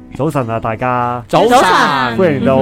早晨啊，大家早晨， 歡迎到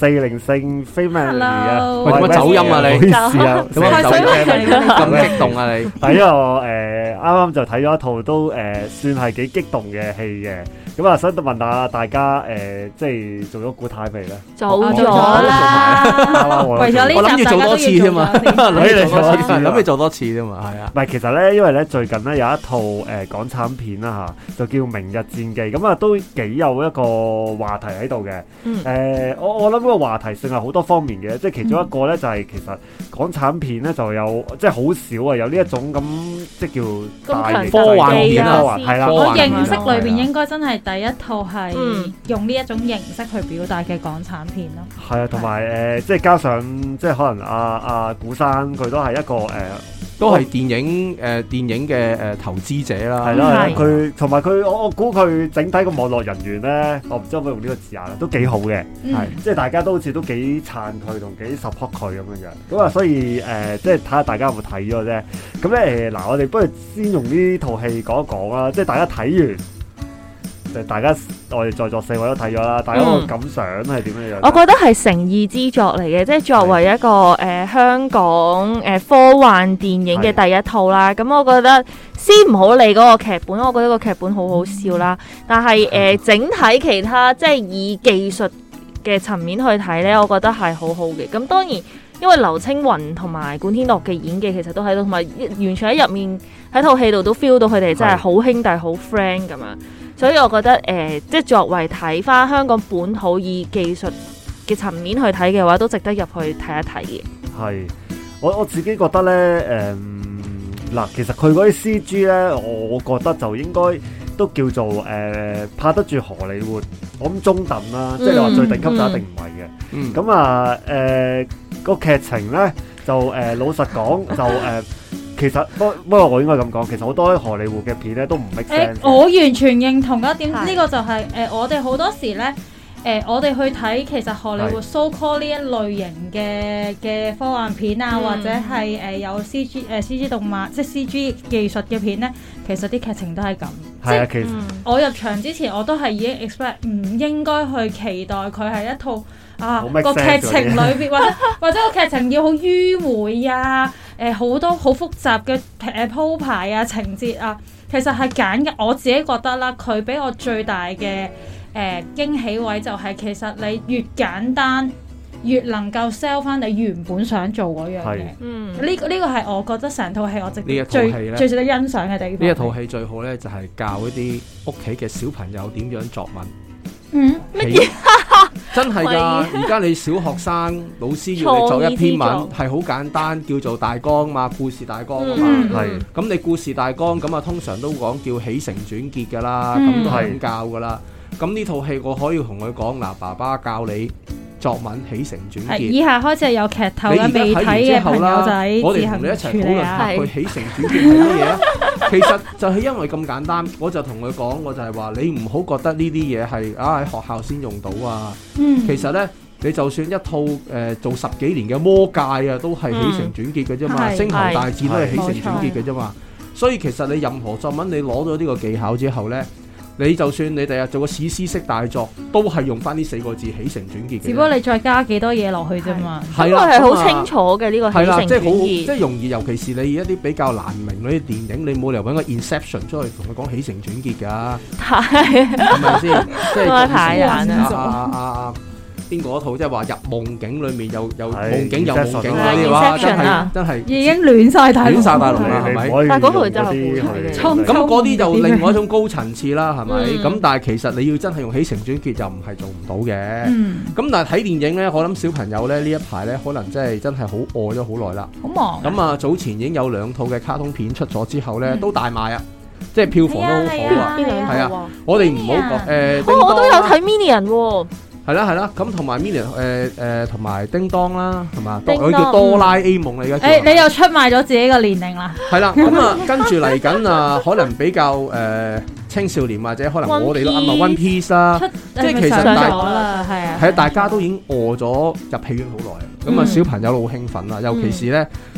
404 Family 啊！ 喂，點解走音啊你？ 唔好意思啊， 點解走音咁激動啊你？ 係因為我啱啱就睇咗一套都算係幾激動嘅戲嘅，咁啊想問下大家即係做咗古太未咧？ 做咗啦， 為咗呢集我諗住做多次添嘛，諗住做多次添嘛，係啊。 唔係，其實咧，因為咧最近咧有一套港產片啦嚇，就叫《明日戰記》，咁啊都幾有一個話題喺度嘅。我諗個話題性係好多方面嘅，即係其中一個咧就係其實港產片咧就有即係好少啊，有呢一種咁即係叫大型科幻片啊， 係啦。 我認識裏邊應該真係第一套係用呢一種形式去表達嘅港產片咯。 係啊，同埋即係加上即係可能阿古生佢都係一個都係電影嘅投資者啦， 係啦，佢同埋佢，我估佢整體個網絡人員咧，我唔知可唔可以用呢個字眼啦，都幾好嘅，係即係大家都好似都幾撐佢同幾 support 佢咁樣樣，咁啊，所以即係睇下大家有冇睇咗啫。咁咧嗱，我哋不如先用呢套戲講一講啦，即係大家睇完。我哋在座4位都睇咗啦，大家個感想係點樣樣？ 我覺得係誠意之作嚟嘅，即係作為一個香港科幻電影嘅第一套啦。咁我覺得先唔好理嗰個劇本，我覺得個劇本好好笑啦。但係整體其他即係以技術嘅層面去睇呢，我覺得係好好嘅。咁當然因為劉青雲同埋管天樂嘅演技其實都喺度，同埋完全喺入面喺套戲度都 feel 到佢哋真係好兄弟好 friend 咁樣。所以我覺得即係作為睇翻香港本土以技術嘅層面去睇嘅話，都值得入去睇一睇嘅。 係，我自己覺得咧，嗱，其實佢嗰啲 CG 咧，我覺得就應該都叫做拍得住荷里活，我諗中等啦，即係你話最頂級就一定唔係嘅。咁啊，個劇情咧就老實講就其實不過我應該咁講，其實好多荷里活嘅片咧都唔 make sense。 我完全認同一點，呢個就係我哋好多時咧，我哋去睇其實荷里活 so call 呢一類型嘅科幻片啊，或者係有 CG 動漫即係 CG 技術嘅片咧，其實啲劇情都係咁。 係啊，其實我入場之前我都係已經 expect 唔應該去期待佢係一套個劇情裏邊或者個劇情要好迂迴啊。好多好複雜嘅鋪排啊、情節啊，其實係揀嘅。我自己覺得啦，佢俾我最大嘅驚喜位就係其實你越簡單，越能夠 sell 翻你原本想做嗰樣嘢。呢個係我覺得成套戲我最值得欣賞嘅地方。 呢一套戲最好咧，就係教一啲屋企嘅小朋友點樣作文。 乜嘢？ 真係㗎！而家你小學生老師要你作一篇文，係好簡單，叫做大綱嘛，故事大綱啊嘛。係咁，你故事大綱咁啊，通常都講叫起承轉結㗎啦，咁都係咁教㗎啦。咁呢套戲我可以同佢講嗱，爸爸教你作文起承轉結。 以下開始係有劇透啦，未睇嘅朋友仔我哋同你一齊討論下佢起承轉結係乜嘢啊？其實就係因為咁簡單，我就同佢講，我就係話你唔好覺得呢啲嘢係喺學校先用到啊。其實呢，你就算一套做10幾年嘅魔戒啊，都係起承轉結嘅啫嘛。星球大戰都係起承轉結嘅啫嘛。所以其實你任何作文，你攞咗呢個技巧之後呢，你就算你第日做個史詩式大作，都係用翻呢4個字起承轉結嘅。 只不過你再加幾多嘢落去啫嘛。 係啦，係好清楚嘅呢個起承轉結。 即係容易，尤其是你一啲比較難明嗰啲電影，你冇理由揾個 Inception 出去同佢講起承轉結㗎。係咪先？即係太難啦。 邊個套即係話入夢境裏面有夢境有夢境嗰啲話，真係已經亂晒大龍啦，係咪？ 但係嗰套真係好睇。 咁嗰啲就另外一種高層次啦，係咪？咁但係其實你要真係用起承轉結就唔係做唔到嘅。咁但係睇電影咧，我諗小朋友咧呢一排咧，可能真係好餓咗好耐啦。 好忙。 咁啊，早前已經有2套嘅卡通片出咗之後咧，都大賣啊！即係票房都好好啊。係啊，我哋唔好講我都有睇 Minion 喎。 係啦，咁同埋 Minion 同埋叮當啦，係嘛？佢叫哆啦 A 夢嚟嘅。 你又出賣咗自己個年齡啦。 係啦，咁啊，跟住嚟緊啊，可能比較青少年或者可能我哋都啱啊 One Piece 啦，即係其實大家都已經餓咗入戲院好耐，咁啊小朋友都好興奮啦，尤其是咧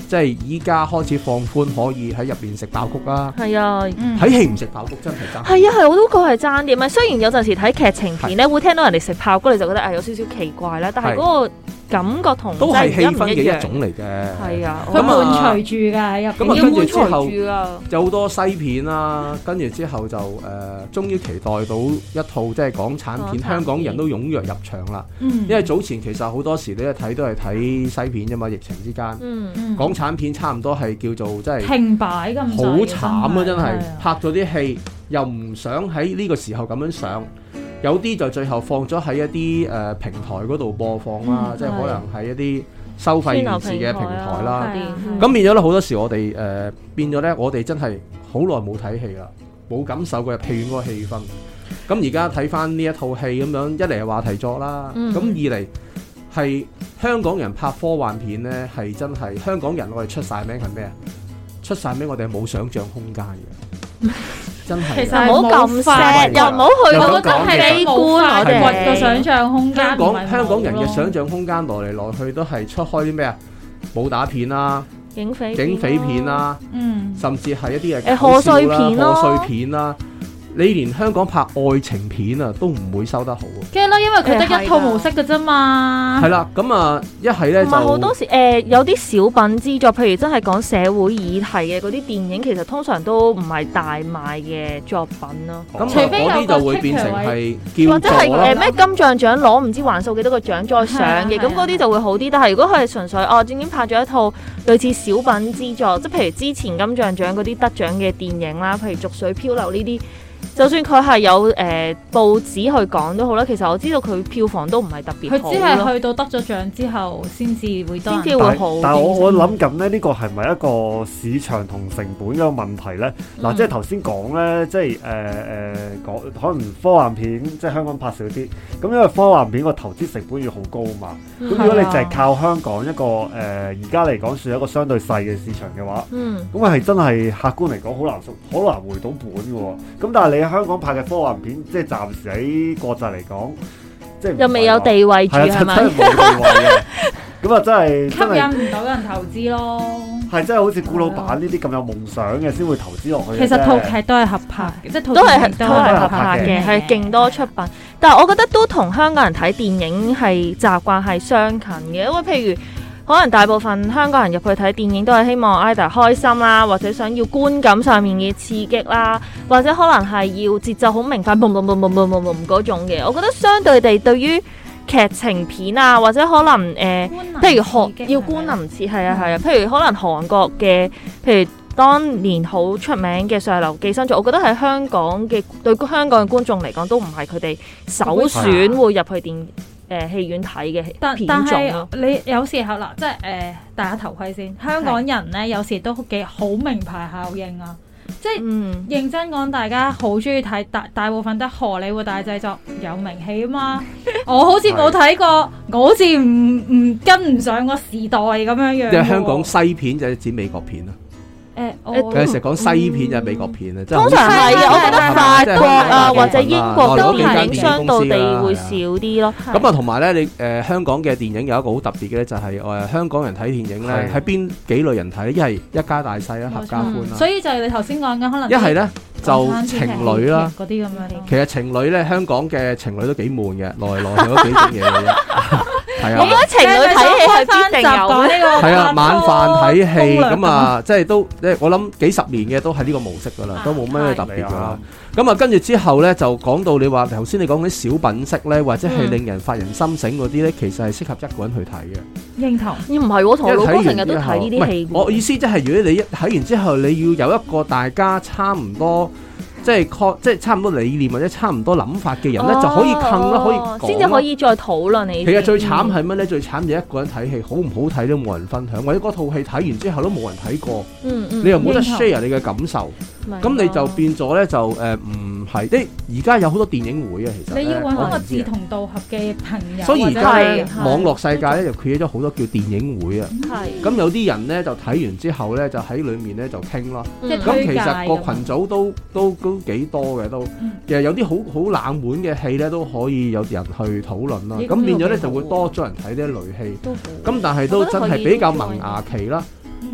即係依家開始放寬，可以喺入邊食爆谷啦。 係啊， 睇戲唔食爆谷真係爭。 係啊係，我都覺係爭啲。咪雖然有陣時睇劇情片咧，會聽到人哋食爆谷，你就覺得有少少奇怪啦。但係嗰個感覺同都係氣氛嘅一種嚟嘅。 係啊， 佢伴隨住㗎喺入邊。 咁啊，跟住之後就好多西片啦，跟住之後就終於期待到一套即係港產片，香港人都踴躍入場啦。因為早前其實好多時你一睇都係睇西片啫嘛，疫情之間。港產片差唔多係叫做即係停擺咁， 好慘啊！真係拍咗啲戲又唔想喺呢個時候咁樣上。有啲就最後放咗喺一啲平台嗰度播放啦，即係可能係一啲收費電視嘅平台啦。咁變咗咧，好多時我哋變咗咧，我哋真係好耐冇睇戲啦，冇感受過入戲院嗰個氣氛。咁而家睇翻呢一套戲咁樣，一嚟係話題作啦，咁二嚟係香港人拍科幻片咧，係真係香港人我哋出晒名係咩啊？出晒名我哋係冇想像空間嘅。真係， 其實唔好咁 sad，又唔好去，我覺得係悲觀，我哋個想像空間。 香港人嘅想像空間來嚟來去都係出開啲咩啊？武打片啦，警匪片啦，甚至係一啲嘅賀歲片啦， 賀歲片啦。你連香港拍愛情片啊都唔會收得好喎。 驚啦，因為佢得一套模式嘅啫嘛。 係啦，咁啊一係咧就好多時有啲小品之作，譬如真係講社會議題嘅嗰啲電影，其實通常都唔係大賣嘅作品咯。 咁除非有啲就會變成係叫或者係咩金像獎攞唔知還數幾多個獎再上嘅，咁嗰啲就會好啲。但係如果佢係純粹正經拍咗一套類似小品之作，即係譬如之前金像獎嗰啲得獎嘅電影啦，譬如《濁水漂流》呢啲。就算佢係有報紙去講都好啦，其實我知道佢票房都唔係特別好。佢只係去到得咗獎之後先至會多人， 先至會好。 但係我諗緊咧，呢個係咪一個市場同成本嘅問題咧？嗱，即係頭先講咧，即係講可能科幻片即係香港拍少啲，咁因為科幻片個投資成本要好高嘛。咁如果你淨係靠香港一個而家嚟講算一個相對細嘅市場嘅話，咁係真係客觀嚟講好難回到本嘅喎。咁但係你香港拍嘅科幻片，即係暫時喺國際嚟講，即係又未有地位住係咪？ 真係冇地位嘅，咁啊真係吸引唔到人投資咯。 係真係好似顧老闆呢啲咁有夢想嘅先會投資落去。 其實套劇都係合拍嘅，即係都係合拍嘅，係勁多出品。但係我覺得都同香港人睇電影係習慣係相近嘅，因為譬如。可能大部分香港人入去睇電影都係希望 either 開心啦，或者想要觀感上面嘅刺激啦，或者可能係要節奏好明快，boom boom boom boom boom boom boom 嗰種嘅。我覺得相對地，對於劇情片啊，或者可能譬如要觀能刺激，係啊係啊，譬如可能韓國嘅，譬如當年好出名嘅《上流寄生族》，我覺得喺香港嘅對香港嘅觀眾嚟講，都唔係佢哋首選會入去戲院睇嘅片種咯。 你有時候啦，即係戴下頭盔先。香港人咧有時都幾好名牌效應啊！即係認真講，大家好中意睇大部分都荷里活大製作，有名氣啊嘛。我好似冇睇過，我好似唔跟唔上個時代咁樣樣。 即係香港西片就係指美國片啊。佢成日講西片就係美國片啊， 通常係嘅。我覺得法國啊或者英國嘅電影相對地會少啲咯。 咁啊，同埋咧，你香港嘅電影有一個好特別嘅咧，就係香港人睇電影咧，喺邊幾類人睇？一係一家大細啦，合家歡啦。 所以就係你頭先講嘅，可能一係咧就情侶啦， 嗰啲咁樣。 其實情侶咧，香港嘅情侶都幾悶嘅，來來去都幾種嘢嘅啫。係啊， 我覺得情侶睇戲係必定有呢個。 係啊，晚飯睇戲咁啊，即係都我諗幾十年嘅都係呢個模式噶啦，都冇咩特別噶啦。咁啊，跟住之後咧就講到你話頭先你講啲小品式咧，或者係令人發人心醒嗰啲咧，其實係適合一個人去睇嘅。 認同。 唔係我同我老公成日都睇呢啲戲。 我意思即係如果你一睇完之後，你要有一個大家差唔多。即係差唔多理念或者差唔多諗法嘅人咧，就可以傾啦，可以講， 先至可以再討論你。 其實最慘係乜咧？最慘就一個人睇戲，好唔好睇都冇人分享，或者嗰套戲睇完之後都冇人睇過，你又冇得 share 你嘅感受，咁你就變咗咧就唔係。即係而家有好多電影會啊，其實你要揾個志同道合嘅朋友。 所以而家網絡世界咧就 create 咗好多叫電影會啊。咁有啲人咧就睇完之後咧就喺裡面咧就傾咯。咁其實個群組都幾多嘅都，其實有啲好冷門嘅戲咧都可以有人去討論啦。咁變咗咧就會多咗人睇呢一類戲。咁但係都真係比較萌芽期啦。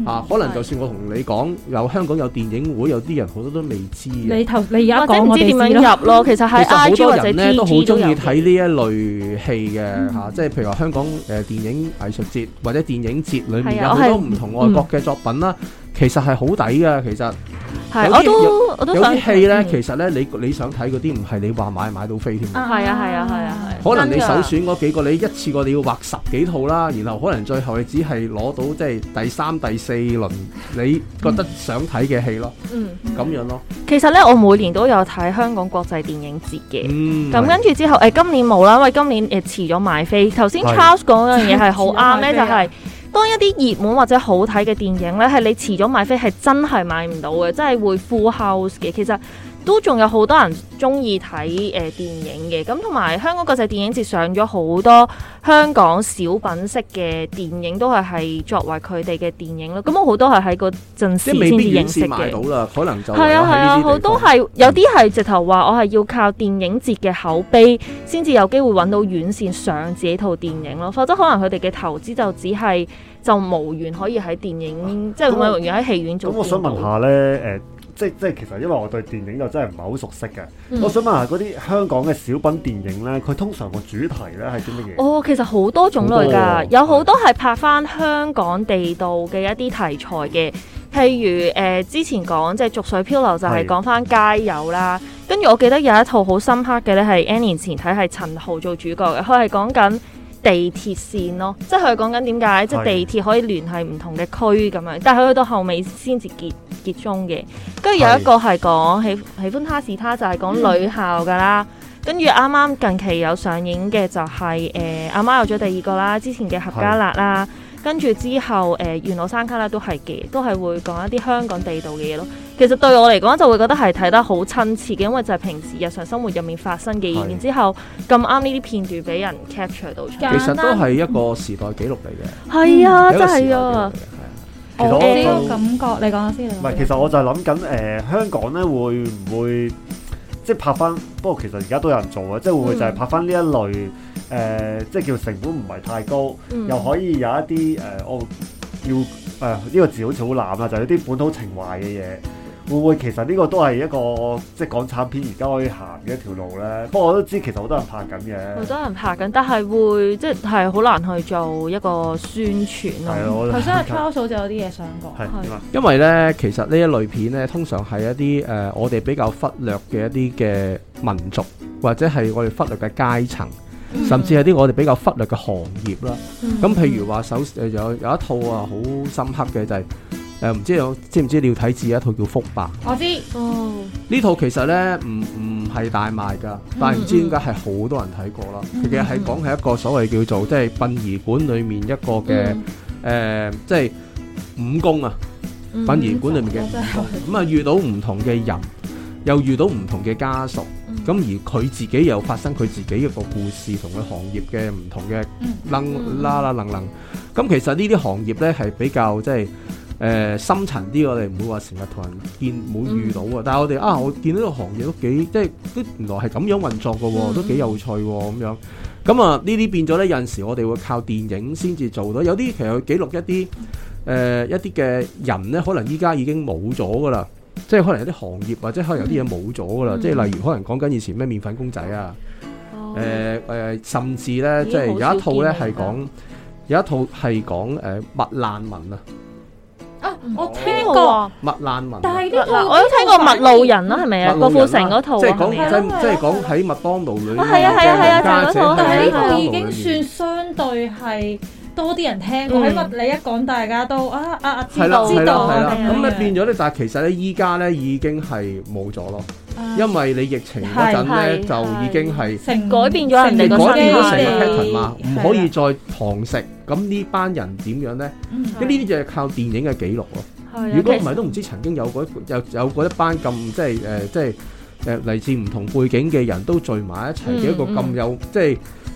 可能就算我同你講有香港有電影會，有啲人好多都未知嘅。 你而家講唔知點樣入咯，其實喺 IG 或者 TG 都好中意睇呢一類戲嘅即係譬如話香港電影藝術節或者電影節裏面有好多唔同外國嘅作品啦，其實係好抵嘅，其實。 我都想有啲戲咧，其實咧你想睇嗰啲唔係你話買到飛添。 係啊。 可能你首選嗰幾個，你一次過你要畫10幾套啦，然後可能最後你只係攞到即係第3、第4輪你覺得想睇嘅戲咯。咁樣咯。 其實咧，我每年都有睇香港國際電影節嘅。咁跟住之後，今年冇啦，因為今年遲咗買飛。頭先 Charles 講嗰樣嘢係好啱咧，就係。當一啲熱門或者好睇嘅電影咧，係你遲咗買飛係真係買唔到嘅，真係會 full house 嘅。其實都仲有好多人中意睇電影嘅，咁同埋香港國際電影節上咗好多香港小品式嘅電影，都係作為佢哋嘅電影咯。咁我好多係喺嗰陣時先至認識嘅。買到啦， 可能就係啊，好多係有啲係直頭話我係要靠電影節嘅口碑先至有機會揾到院線上自己套電影咯，否則可能佢哋嘅投資就只係就無緣可以喺電影，即係無緣喺戲院做。咁我想問下咧，即係其實因為我對電影就真係唔係好熟悉嘅，我想問下嗰啲香港嘅小品電影咧，佢通常個主題咧係啲乜嘢？其實好多種類㗎，有好多係拍翻香港地道嘅一啲題材嘅，譬如之前講即係《濁水漂流》就係講翻街友啦，跟住我記得有一套好深刻嘅咧係 N 年前睇係陳豪做主角嘅，佢係講緊地鐵線咯，即係佢講緊點解即係地鐵可以聯繫唔同嘅區咁樣，但係佢去到後尾先至結終嘅。跟住有一個係講喜歡他是他，就係講女校噶啦。跟住啱啱近期有上映嘅就係阿媽有咗第二個啦，之前嘅合家辣啦，跟住之後緣路山旮旯都係嘅，都係會講一啲香港地道嘅嘢咯。其實對我嚟講就會覺得係睇得好親切嘅，因為就係平時日常生活入面發生嘅嘢，然之後咁啱呢啲片段俾人 capture 到出嚟。 其實都係一個時代紀錄嚟嘅。 係啊，真係啊！ 我呢個感覺，你講下先。唔係， 其實我就係諗緊香港咧會唔會即係拍翻？不過其實而家都有人做啊，即係會唔會就係拍翻呢一類即係叫成本唔係太高，又可以有一啲我要呢個字好似好濫啦，就係有啲本土情懷嘅嘢。會唔會其實呢個都係一個即係港產片而家可以行嘅一條路咧？不過我都知其實好多人拍緊嘅， 好多人拍緊，但係會即係好難去做一個宣傳咯。 頭先阿 Charles 就有啲嘢想講， 因為咧其實呢一類片咧，通常係一啲我哋比較忽略嘅一啲嘅民族，或者係我哋忽略嘅階層，甚至係啲我哋比較忽略嘅行業啦。咁譬如話有一套好深刻嘅就係。唔知唔知你要睇一套叫《福伯》？ 我知呢套其實咧唔係大賣㗎，但係唔知點解係好多人睇過啦。其實係講係一個所謂叫做即係殯儀館裡面一個嘅即係武功啊，殯儀館裡面嘅武功咁啊，遇到唔同嘅人，又遇到唔同嘅家屬，咁而佢自己又發生佢自己一個故事，同佢行業嘅唔同嘅楞。咁其實呢啲行業咧係比較即係。深層啲，我哋唔會話成日同人冇遇到啊。但係我哋我見到呢個行業都幾即係都原來係咁樣運作嘅喎，都幾有趣喎咁樣。咁呢啲變咗咧，有陣時我哋會靠電影先至做到。有啲其實記錄一啲嘅人咧，可能依家已經冇咗㗎啦。即係可能有啲行業或者可能有啲嘢冇咗㗎啦。即係例如可能講緊以前咩麵粉公仔啊，甚至咧即係有一套咧係講麥難民啊。 我聽過麥難民， 但係我都聽過麥路人啦，係咪啊？郭富城嗰套， 即係講喺麥當勞裏面係啊， 但係呢套已經算相對係多啲人聽過。喺你一講，大家都知道。 咁咧變咗咧，但係其實咧依家咧已經係冇咗咯，因為你疫情嗰陣咧就已經係改變咗人哋個改變咗成個 pattern 嘛，唔可以再堂食。咁呢班人點樣咧？咁呢啲就係靠電影嘅記錄咯。如果唔係，都唔知曾經有過一班咁即係嚟自唔同背景嘅人都聚埋一齊嘅一個咁有即係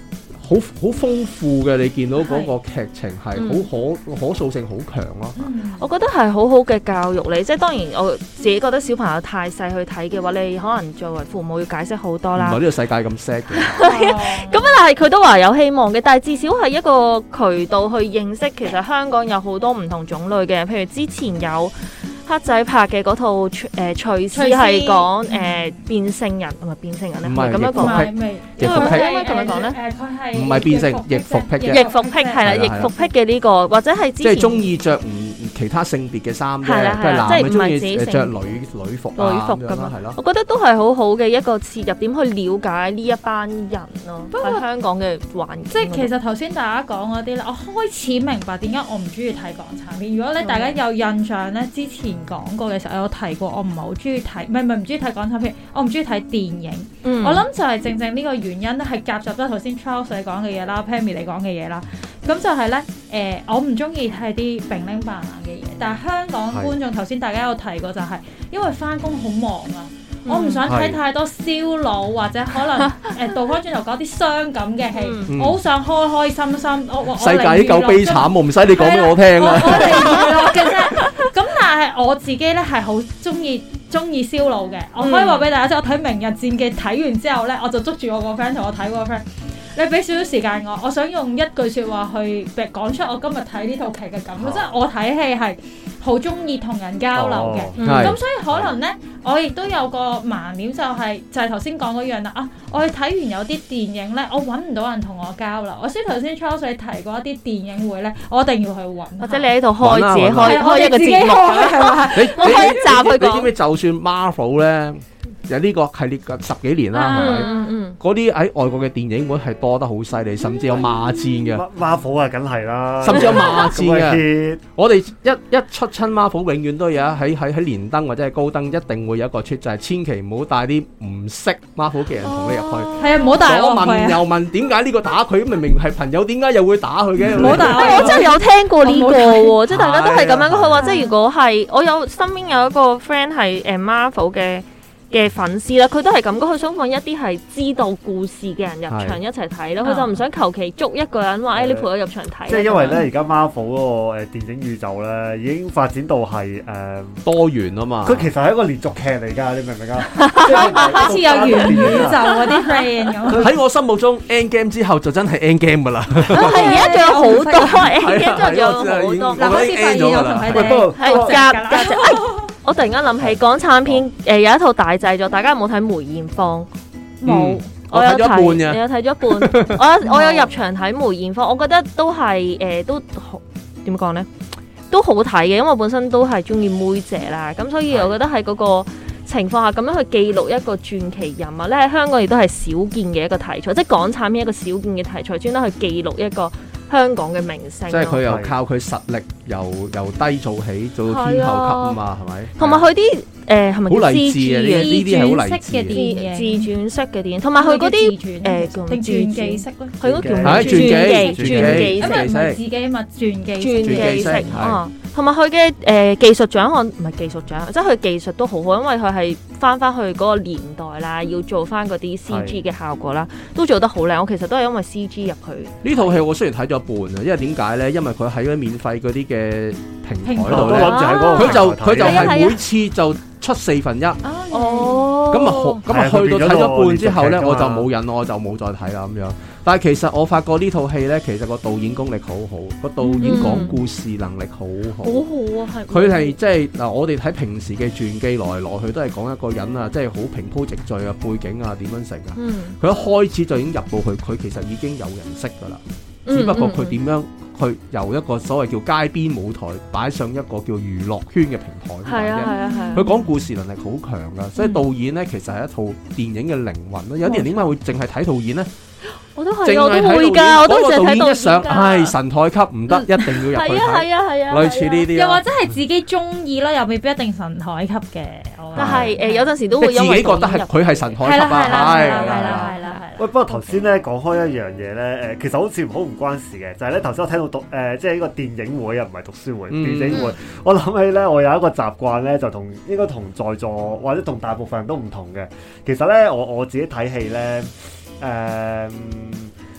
好豐富嘅，你見到嗰個劇情係好可塑性好強咯。 我覺得係好好嘅教育嚟，即係當然我自己覺得小朋友太細去睇嘅話，你可能作為父母要解釋好多啦。 唔係呢個世界咁 sad 嘅。 咁但係佢都話有希望嘅，但係至少係一個渠道去認識其實香港有好多唔同種類嘅，譬如之前有黑仔拍嘅嗰套廚師係講變性人，唔係變性人咧，唔係咁樣講， 逆服癖， 應該咁樣講咧， 佢係唔係變性，逆服癖嘅， 逆服癖係啦，逆服癖嘅呢個，或者係之前即係中意着唔其他性別嘅衫啫， 係男嘅中意着女服咁樣係咯。我覺得都係好好嘅一個切入點去了解呢一班人咯，喺香港嘅環境。 即係其實頭先大家講嗰啲咧，我開始明白點解我唔中意睇港產片。如果咧大家有印象咧，之前講過嘅時候有提過，我唔係好中意睇，唔係唔中意睇港產片，我唔中意睇電影。我諗就係正正呢個原因咧，係夾雜咗頭先 Charles 你講嘅嘢啦 ，Pammy 你講嘅嘢啦。咁就係咧，我唔中意睇啲並拎扮爛嘅嘢，但係香港觀眾頭先大家有提過，就係因為翻工好忙啊，我唔想睇太多燒腦或者可能倒翻轉頭講啲傷感嘅戲，我好想開開心心。 世界已經夠悲慘，我唔使你講俾我聽啦。 我嚟娛樂嘅啫。咁但係我自己咧係好中意燒腦嘅，我可以話俾大家知，我睇《明日戰記》睇完之後咧，我就捉住我個 friend 同我睇嗰個 friend。你俾少少時間我想用一句説話去講出我今日睇呢套劇嘅感覺，即係我睇戲係好中意同人交流嘅，咁所以可能咧，我亦都有個盲點就係頭先講嗰樣啦啊！我去睇完有啲電影咧，我揾唔到人同我交流。我先頭先 Charles 提過一啲電影會咧，我一定要去揾，或者你喺度開自己開一個節目，我開一集去講。 你知唔知就算 Marvel 咧？有呢個系列嘅10幾年啦，係咪？嗰啲喺外國嘅電影會係多得好犀利，甚至有罵戰嘅。 Marvel 啊，梗係啦， 甚至有罵戰嘅。我哋一出親 Marvel，永遠都有喺連登或者係高登，一定會有一個出，就係千祈唔好帶啲唔識 Marvel 嘅人同你入去。 係啊，唔好帶我入去。 問又問點解呢個打佢？明明係朋友，點解又會打佢嘅？ 唔好帶我真係有聽過呢個喎，即係大家都係咁樣。佢話即係如果係我有身邊有一個 friend 係Marvel 嘅粉絲啦，佢都係咁講，佢想揾一啲係知道故事嘅人入場一齊睇咯，佢就唔想求其捉一個人話，你陪我入場睇。即係因為咧，而家 Marvel 嗰個電影宇宙咧，已經發展到係多元啊嘛。佢其實係一個連續劇嚟㗎，你明唔明啊？ 好似有元宇宙嗰啲 friend 咁。 喺我心目中 Endgame 之後就真係 Endgame 㗎啦。 係而家仲有好多 Endgame 仲有好多。 嗱，好似發現我同佢哋係夾。我突然間諗起港產片，有一套大製作，大家有冇睇梅艷芳？冇，我有睇，你有睇咗一半。我有入場睇梅艷芳，我覺得都係都點講咧，都好睇嘅，因為我本身都係中意妹姐啦，咁所以我覺得喺嗰個情況下咁樣去記錄一個傳奇人物咧，喺香港亦都係少見嘅一個題材，即係港產片一個少見嘅題材，專登去記錄一個香港嘅明星， 即係佢又靠佢實力由低做起，做到天后級啊嘛，係咪？ 同埋佢啲係咪好勵志啊？呢啲係好勵志嘅自傳式嘅電影，同埋佢嗰啲定傳記式咧， 佢嗰叫傳記式， 因為唔係自己嘛，傳記式啊。同埋佢嘅技術獎項唔係技術獎，即係佢技術都好好，因為佢係翻去嗰個年代啦，要做翻嗰啲 CG 嘅效果啦，都做得好靚。我其實都係因為 CG 入去。 呢套戲我雖然睇咗一半啊，因為點解咧？因為佢喺嗰啲免費嗰啲嘅平台度咧，佢就係每次就出1/4。哦，咁啊去到睇咗半之後咧，我就冇癮，我就冇再睇啦咁樣。但係其實我發覺呢套戲咧，其實個導演功力好好，個導演講故事能力好好。 好好啊，係。 佢係即係嗱，我哋睇平時嘅傳記來來去都係講一個人啊，即係好平鋪直敍啊，背景啊點樣成啊。佢一開始就已經入到去，佢其實已經有人識㗎啦。只不過佢點樣去由一個所謂叫街邊舞台擺上一個叫娛樂圈嘅平台。 係啊。 佢講故事能力好強㗎，所以導演咧其實係一套電影嘅靈魂咯。有啲人點解會淨係睇導演咧？ 我都係，我都會㗎，我都淨係睇導演㗎。 係神台級唔得，一定要入去睇。 係啊， 類似呢啲。 又或者係自己中意咯，又未必一定神台級嘅。 但係有陣時都會因為自己覺得係佢係神台級啊。係啦。 喂，不過頭先咧講開一樣嘢咧，其實好似好唔關事嘅，就係咧頭先我聽到即係呢個電影會啊，唔係讀書會，電影會。我諗起咧，我有一個習慣咧，就應該同在座或者同大部分人都唔同嘅。其實咧，我自己睇戲咧。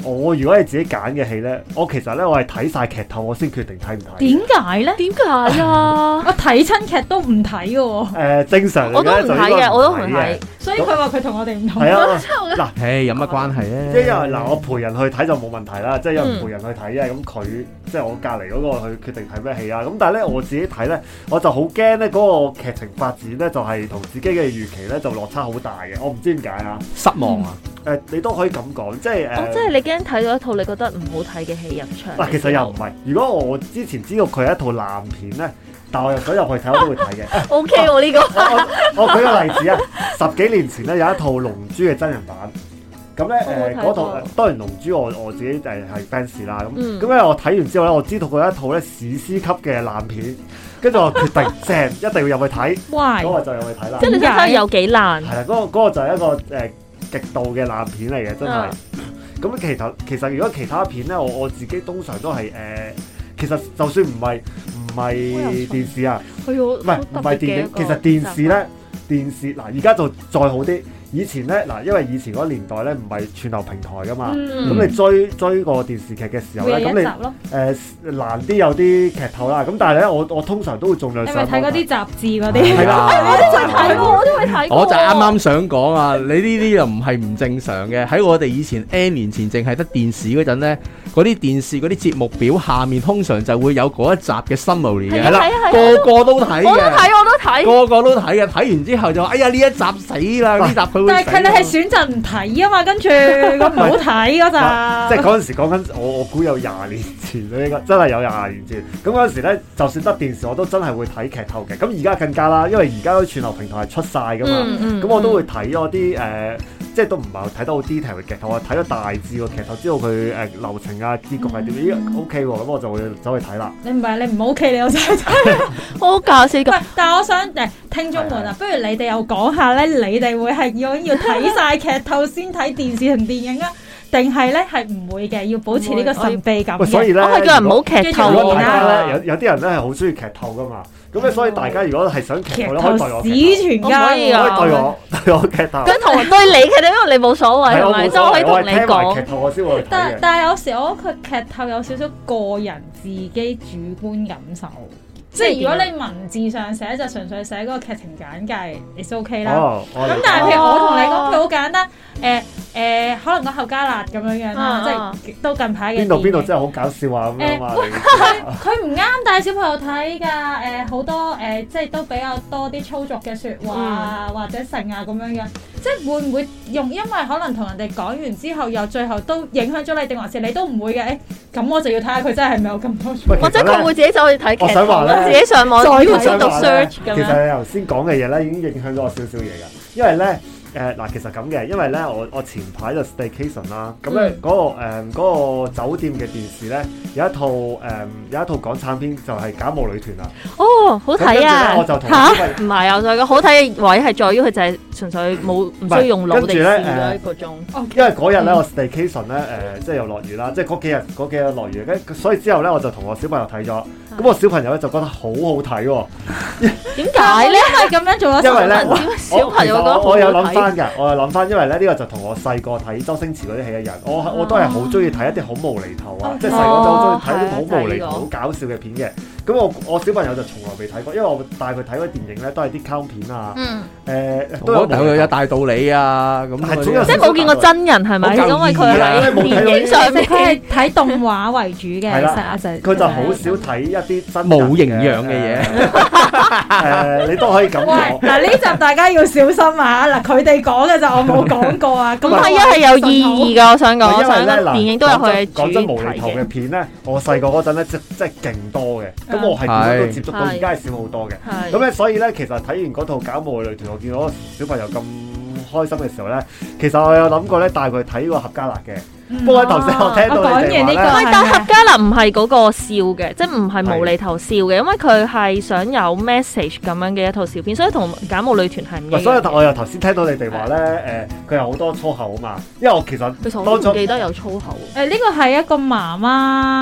我如果係自己揀嘅戲咧，我其實咧我係睇晒劇透，我先決定睇唔睇。 點解咧？點解啊？我睇親劇都唔睇嘅喎。 正常我都唔睇嘅，我都唔睇。 所以佢話佢同我哋唔同。 係啊， 嗱，有乜關係咧？ 即係因為我陪人去睇就冇問題啦，即係因為陪人去睇啫。咁佢即係我隔離嗰個去決定睇咩戲啊。咁但係咧我自己睇咧，我就好驚咧嗰個劇情發展咧就係同自己嘅預期咧就落差好大嘅。我唔知點解啊， 失望啊！ 你都可以咁講，即係即係你驚睇到一套你覺得唔好睇嘅戲入場。 嗱，其實又唔係。如果我之前知道佢係一套爛片咧，但我又想入去睇，我都會睇嘅。 O K 喎呢個。 我舉個例子啊，10幾年前咧有一套《龍珠》嘅真人版，咁咧嗰套當然《龍珠》我自己係 fans 啦，咁咧我睇完之後咧，我知道佢係一套咧史詩級嘅爛片，跟住我決定正一定要入去睇，嗰個就入去睇啦。 即係你睇下有幾爛？係啦，嗰個就係一個極度嘅爛片嚟嘅，真係。咁其實如果其他片咧，我自己通常都係其實就算唔係電視啊，唔係電影，其實電視嗱而家就再好啲。以前咧嗱，因為以前嗰年代咧唔係串流平台噶嘛，咁你追個電視劇嘅時候咧，咁你難啲有啲劇透啦。咁但係咧，我通常都會盡量上網睇嗰啲雜誌嗰啲。係啦， 我都會睇。 我就啱啱想講啊，你呢啲又唔係唔正常嘅。喺我哋以前 N 年前淨係得電視嗰陣咧，嗰啲電視嗰啲節目表下面通常就會有嗰一集嘅 summary 嘅，係啦，個個都睇嘅。我都睇，個個都睇嘅。睇完之後就話：哎呀，呢一集死啦！呢集。 但係佢哋係選擇唔睇啊嘛，跟住咁唔好睇嗰陣。 即係嗰陣時講緊，我估有20年前啦，應該真係有20年前。咁嗰陣時咧，就算得電視，我都真係會睇劇透嘅。咁而家更加啦，因為而家啲串流平台係出晒噶嘛，咁我都會睇咗啲即係都唔係睇得好 detail 嘅劇透，我睇咗大致個劇透，知道佢流程啊、結局係點。咦 OK 喎，咁我就會走去睇啦。你唔 OK，你又走去睇， 好搞笑㗎。 但係我想聽眾們啊，不如你哋又講下咧，你哋會係要睇晒劇透先睇電視同電影啊？定係咧係唔會嘅，要保持呢個神秘感嘅。 所以咧， 我係叫人唔好劇透啦。有啲人咧係好中意劇透噶嘛。咁咧，所以大家如果係想劇透咧，可以對我史傳家， 可以對我劇透。 咁同對你劇透，因為你冇所謂係咪？即係可以同你講。 劇透我先會睇嘅。 但係有時我覺得佢劇透有少少個人自己主觀感受。即係如果你文字上寫就純粹寫嗰個劇情簡介，it's OK 啦。咁但係譬如我同你講，佢好簡單，可能個後加辣咁樣啦，即係都近排嘅。 邊度真係好搞笑啊咁樣啊！ 佢唔啱帶小朋友睇㗎，好多即係都比較多啲粗俗嘅説話啊，或者性啊咁樣嘅，即係會唔會因為可能同人哋講完之後，又最後都影響咗你，定還是你都唔會嘅？咁我就要睇下佢真係咪有咁多， 或者佢會自己走去睇劇。 我想話咧， 自己上網再度 search 咁樣。 其實你頭先講嘅嘢咧，已經影響咗我少少嘢㗎。因為咧，嗱，其實咁嘅，因為咧，我前排就 staycation 啦，咁咧嗰個酒店嘅電視咧有一套港產片就係《假冒女團》啊。 哦，好睇啊！ 我就同唔係啊，就好睇嘅位係在於佢就係純粹唔需要用腦地試咗一個鐘。 因為嗰日咧我 staycation 咧即係又落雨啦，即係嗰幾日落雨，所以之後咧我就同我小朋友睇咗。咁我小朋友咧就覺得好好睇喎。 點解咧？ 因為咁樣做咗。 因為咧， 小朋友覺得好睇。 我有諗翻，因為咧呢個就同我細個睇周星馳嗰啲戲一樣，我都係好中意睇一啲好無厘頭啊，即係細個就好中意睇啲好無厘頭、好搞笑嘅片嘅。咁我小朋友就從來未睇過，因為我帶佢睇嗰啲電影咧都係啲卡通片啊， 都有大道理啊咁。 即係冇見過真人係咪？因為佢喺電影上面， 佢係睇動畫為主嘅。係啦， 佢就好少睇一啲真冇營養嘅嘢。你都可以咁講。 嗱，呢集大家要小心啊！嗱，佢哋講嘅就我冇講過啊。 咁係係有意義㗎，我想講。因為咧，電影都有佢嘅主題嘅。 講真無厘頭嘅片咧，我細個嗰陣咧，即係勁多嘅。咁我係點樣都接觸到，而家係少好多嘅。咁咧，所以咧，其實睇完嗰套《假冒女團》，我見到小朋友咁開心嘅時候咧，其實我有諗過咧帶佢睇個合家樂嘅。不過頭先我聽到你哋話咧， 但合家樂唔係嗰個笑嘅，即係唔係無厘頭笑嘅，因為佢係想有 message 咁樣嘅一套笑片，所以同《假冒女團》係唔一樣。 所以我又頭先聽到你哋話咧，佢有好多粗口啊嘛，因為我其實當初記得有粗口。 呢個係一個媽媽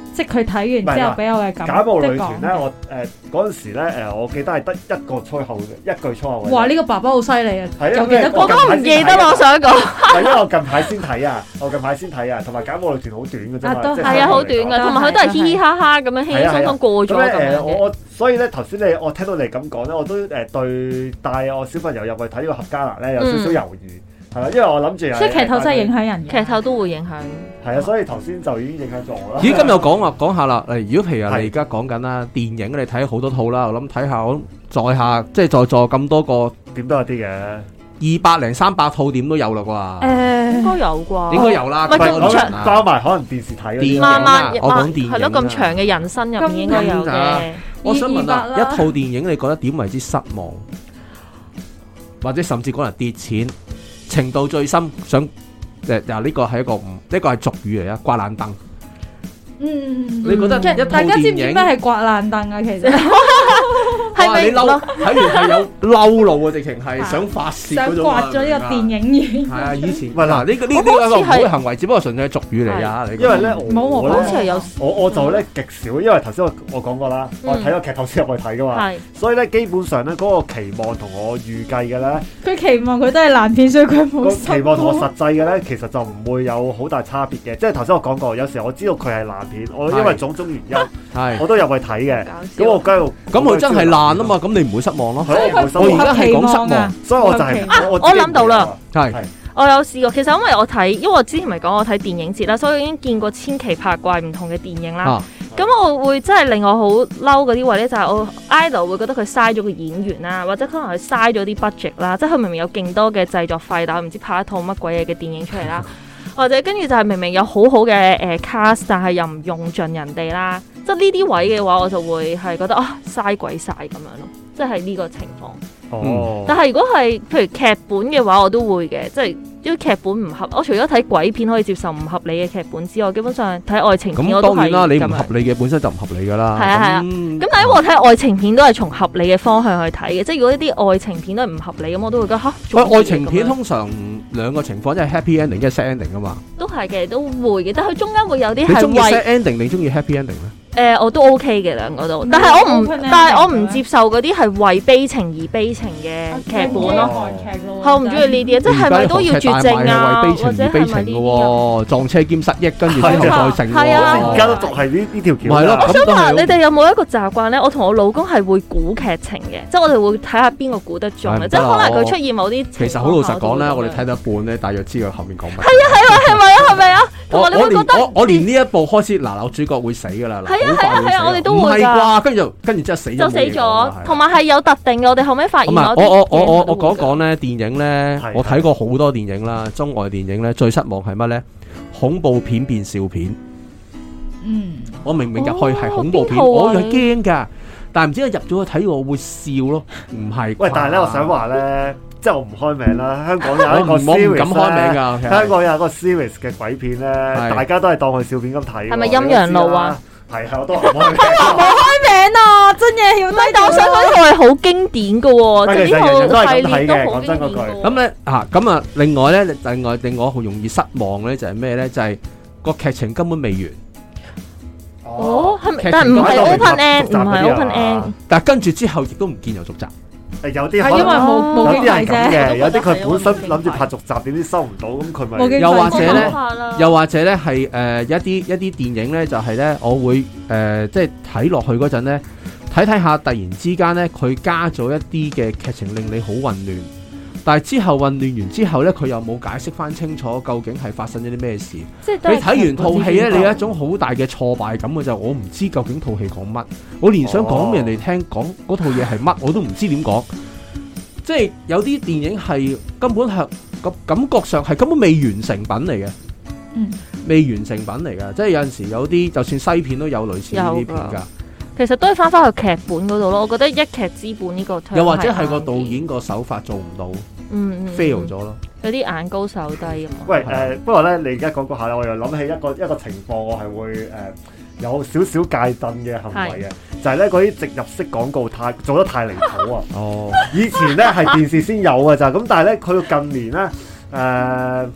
即係佢睇完之後俾我嘅感覺。 假冒女團咧，我嗰陣時咧我記得係得一個粗口嘅，一句粗口嘅。 哇！呢個爸爸好犀利啊！ 係啊， 我都唔記得我想講。 係因為我近排先睇啊，同埋假冒女團好短嘅啫嘛， 係啊，好短嘅，同埋佢都係嘻嘻哈哈咁樣輕輕鬆鬆過咗咁樣。 我所以咧頭先我聽到你咁講咧，我都對帶我小朋友入去睇呢個闔家辣咧有少少猶豫。係啦，因為我諗住， 即係劇透真係影響人嘅， 劇透都會影響。 係啊，所以頭先就已經影響咗我啦。 咦，今日講下啦，如果譬如你而家講緊啦，電影你睇好多套啦，我諗睇下，我在下即係在座咁多個， 點都有啲嘅 ，200-300套點都有啦啩？ 應該有啩？ 應該有啦。 咁長包埋可能電視睇嗰啲。 慢慢我講電影係咯，咁長嘅人生入面應該有嘅。 我想問啦，一套電影你覺得點為之失望，或者甚至可能跌錢？程度最深，想呢個係呢個係俗語嚟啊，刮爛燈。 你覺得大家知唔知咩係刮爛燈啊？其實係咪你嬲睇完係有嬲怒啊？直情係想發泄嗰種想刮咗呢個電影院。 係啊，以前嗱呢個一個唔好嘅行為，只不過純粹係俗語嚟啊。 因為咧， 我好似係有我就咧極少，因為頭先我講過啦，我睇個劇透先入去睇噶嘛，所以咧基本上咧嗰個期望同我預計嘅咧， 佢期望佢都係爛片，所以佢冇期望同我實際嘅咧，其實就唔會有好大差別嘅。即係頭先我講過，有時我知道佢係爛片，我因為種種原因，我都入去睇嘅。咁我咁佢真係爛啊嘛，咁你唔會失望咯。 我而家係講失望， 所以我就係我諗到啦， 係我有試過。其實因為我之前咪講我睇電影節啦，所以我已經見過千奇百怪唔同嘅電影啦。咁我會真係令我好嬲嗰啲位咧，就係我 idol 會覺得佢嘥咗個演員啦，或者可能佢嘥咗啲 budget 啦，即係佢明明有勁多嘅製作費，但係唔知拍一套乜鬼嘢嘅電影出嚟啦。或者跟住就係明明有好好嘅cast，但係又唔用盡人哋啦，即係呢啲位嘅話，我就會係覺得嘥鬼晒咁樣咯，即係呢個情況。但係如果係譬如劇本嘅話，我都會嘅，即係因為劇本唔合，我除咗睇鬼片可以接受唔合理嘅劇本之外，基本上睇愛情片我都係咁樣。 咁當然啦，你唔合理嘅本身就唔合理噶啦。 係啊。咁但係我睇愛情片都係從合理嘅方向去睇嘅，即係如果呢啲愛情片都係唔合理咁，我都會覺得愛情片通常兩個情況，即係 happy ending，即係 sad ending 啊嘛。 都係嘅，都會嘅，但係佢中間會有啲係你中意 sad ending，你中意 happy ending 咧？ 我都 OK 嘅兩個都，但係我唔接受嗰啲係為悲情而悲情嘅劇本咯。我唔中意呢啲，即係咪都要絕症啊？ 為悲情而悲情嘅喎，撞車兼失憶，跟住之後再成。 係啊， 而家都仲係呢條橋。 係咯。 我想問你哋有冇一個習慣咧？我同我老公係會估劇情嘅，即係我哋會睇下邊個估得中嘅，即係可能佢出現某啲。 其實好老實講咧，我哋睇到一半咧，大約知佢後面講乜。 係咪啊？ 我連呢一部開始嗱，主角會死㗎啦。 係啊，我哋都會㗎。跟住之後死咗， 同埋係有特定嘅。我哋後尾發現我講咧電影咧，我睇過好多電影啦，中外電影咧最失望係乜咧？恐怖片變笑片。我明明入去係恐怖片，我係驚㗎，但係唔知入咗去睇我會笑咯，唔係。 喂，但係咧，我想話咧。即係我唔開名啦，香港有一個 series 我唔敢開名㗎。 香港有一個 series 嘅鬼片咧，大家都係當佢笑片咁睇。 係咪陰陽路啊？ 係我都唔開名。 冇開名啊！真嘢要低但我想講呢套係好經典嘅喎， 即係呢套系列都好經典嘅。 咁咧咁啊，另外咧，令我好容易失望咧，就係咩咧？就係個劇情根本未完。 係咪？但係唔係 open end，唔係 open end。 但係跟住之後亦都唔見有續集。 有啲係因為冇啲係咁嘅，有啲佢本身諗住拍續集，點知收唔到，咁佢咪又或者咧係一啲電影咧，就係咧，我會即係睇落去嗰陣咧，睇下突然之間咧，佢加咗一啲嘅劇情令你好混亂，但係之後混亂完之後咧，佢又冇解釋翻清楚究竟係發生咗啲咩事。你睇完套戲咧，你有一種好大嘅挫敗感嘅就係我唔知究竟套戲講乜，我連想講俾人哋聽講嗰套嘢係乜我都唔知點講。即係有啲電影係根本係個感覺上係根本未完成品嚟嘅，未完成品嚟㗎。即係有陣時有啲就算西片都有類似呢啲片㗎。 其實都係翻去劇本嗰度咯。我覺得一劇之本呢個又或者係個導演個手法做唔到，fail 咗咯。 有啲眼高手低咁。 喂不過咧，你而家講下咧，我又諗起一個情況，我係會有少少戒震嘅行為嘅，就係咧嗰啲植入式廣告做得太離譜啊！以前咧係電視先有嘅咋，咁但係咧去到近年咧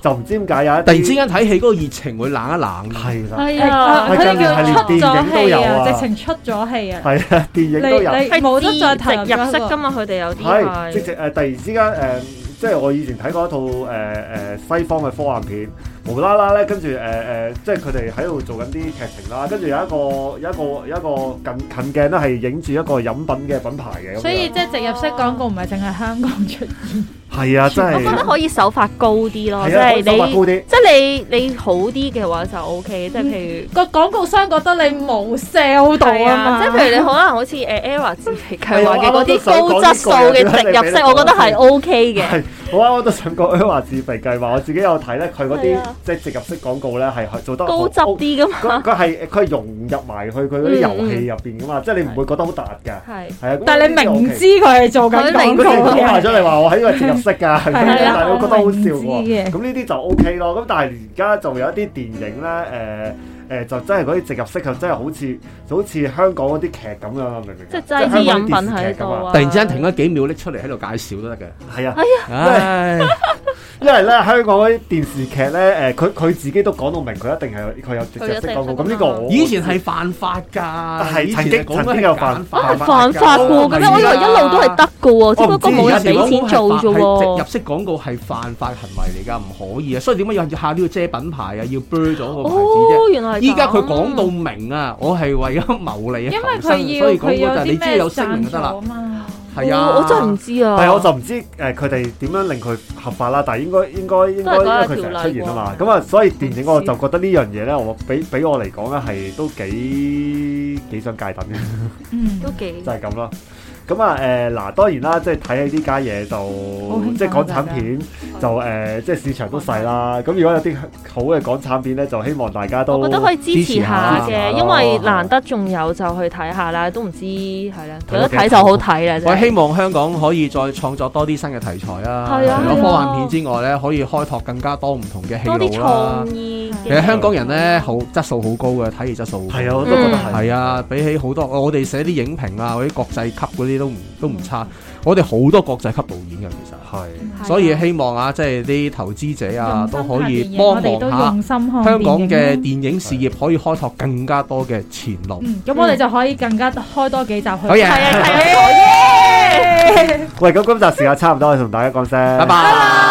就唔知點解有一突然之間睇戲嗰個熱情會冷一冷。 係啦， 係啊，佢哋叫出咗戲啊，直情出咗戲啊。 係啊，電影都有， 係冇得再投入式㗎嘛，佢哋有啲係直情突然之間即係我以前睇過一套西方嘅科幻片，無啦啦咧，跟住即係佢哋喺度做緊啲劇情啦，跟住有一個近鏡咧係影住一個飲品嘅品牌嘅， 所以即係植入式廣告唔係淨係香港出現。 係啊，真係。 我覺得可以手法高啲咯，即係你好啲嘅話就 OK，即係譬如個廣告商覺得你冇 sell 到啊嘛， 即係譬如你可能好似ERROR 自肥計劃嘅嗰啲高質素嘅植入式，我覺得係 OK 嘅。 好啊，我都想講ERROR自肥計劃，我自己有睇咧，佢嗰啲即係植入式廣告咧係做得高質啲噶嘛。 佢係融入埋去佢嗰啲遊戲入邊噶嘛，即係你唔會覺得好突㗎。係啊， 但係你明知佢係做緊廣告嘅， 講埋咗你話我喺呢個植入式㗎，但係我覺得好笑喎。咁呢啲就 OK 咯。咁但係而家就有一啲電影咧，就真係嗰啲植入式就真係好似香港嗰啲劇咁樣，明唔明？ 即係擠啲飲品喺度啊！ 突然之間停咗幾秒拎出嚟喺度介紹都得嘅。 係啊，因為咧香港嗰啲電視劇咧，佢自己都講到明，佢一定係佢有植入式廣告。咁呢個以前係犯法㗎， 係曾經有犯法㗎。咁我以為一路都係得㗎喎，只不過冇人俾錢做啫喎。 植入式廣告係犯法行為嚟㗎，唔可以啊！所以點解要下都要遮品牌啊？要 blur 咗個牌子啫。 原來依家佢講到明啊，我係為咗牟利啊，所以講嗰就你只要有聲明就得啦。係啊， 我真係唔知啊。 係我就唔知佢哋點樣令佢合法啦，但係應該因為佢成日出現啊嘛。咁啊，所以電影我就覺得呢樣嘢咧，我俾我嚟講咧係都幾想戒等嘅。 都幾就係咁咯。咁啊嗱，當然啦，即係睇起呢家嘢就即係港產片就即係市場都細啦。咁如果有啲好嘅港產片咧，就希望大家都我覺得可以支持下嘅，因為難得仲有就去睇下啦。都唔知係啦，有得睇就好睇啦。 我希望香港可以再創作多啲新嘅題材啊！除咗科幻片之外咧，可以開拓更加多唔同嘅戲路啦。多啲創意。其實香港人咧好質素好高嘅，體驗質素好高。 係啊，我都覺得係。 係啊，比起好多我哋寫啲影評啊，嗰啲國際級嗰啲都唔差。我哋好多國際級導演嘅，其實係，所以希望啊，即係啲投資者啊都可以幫忙下香港嘅電影事業，可以開拓更加多嘅前路。 咁我哋就可以更加開多幾集去。 好嘢！ 喂，咁今集時間差唔多，我同大家講聲， 拜拜。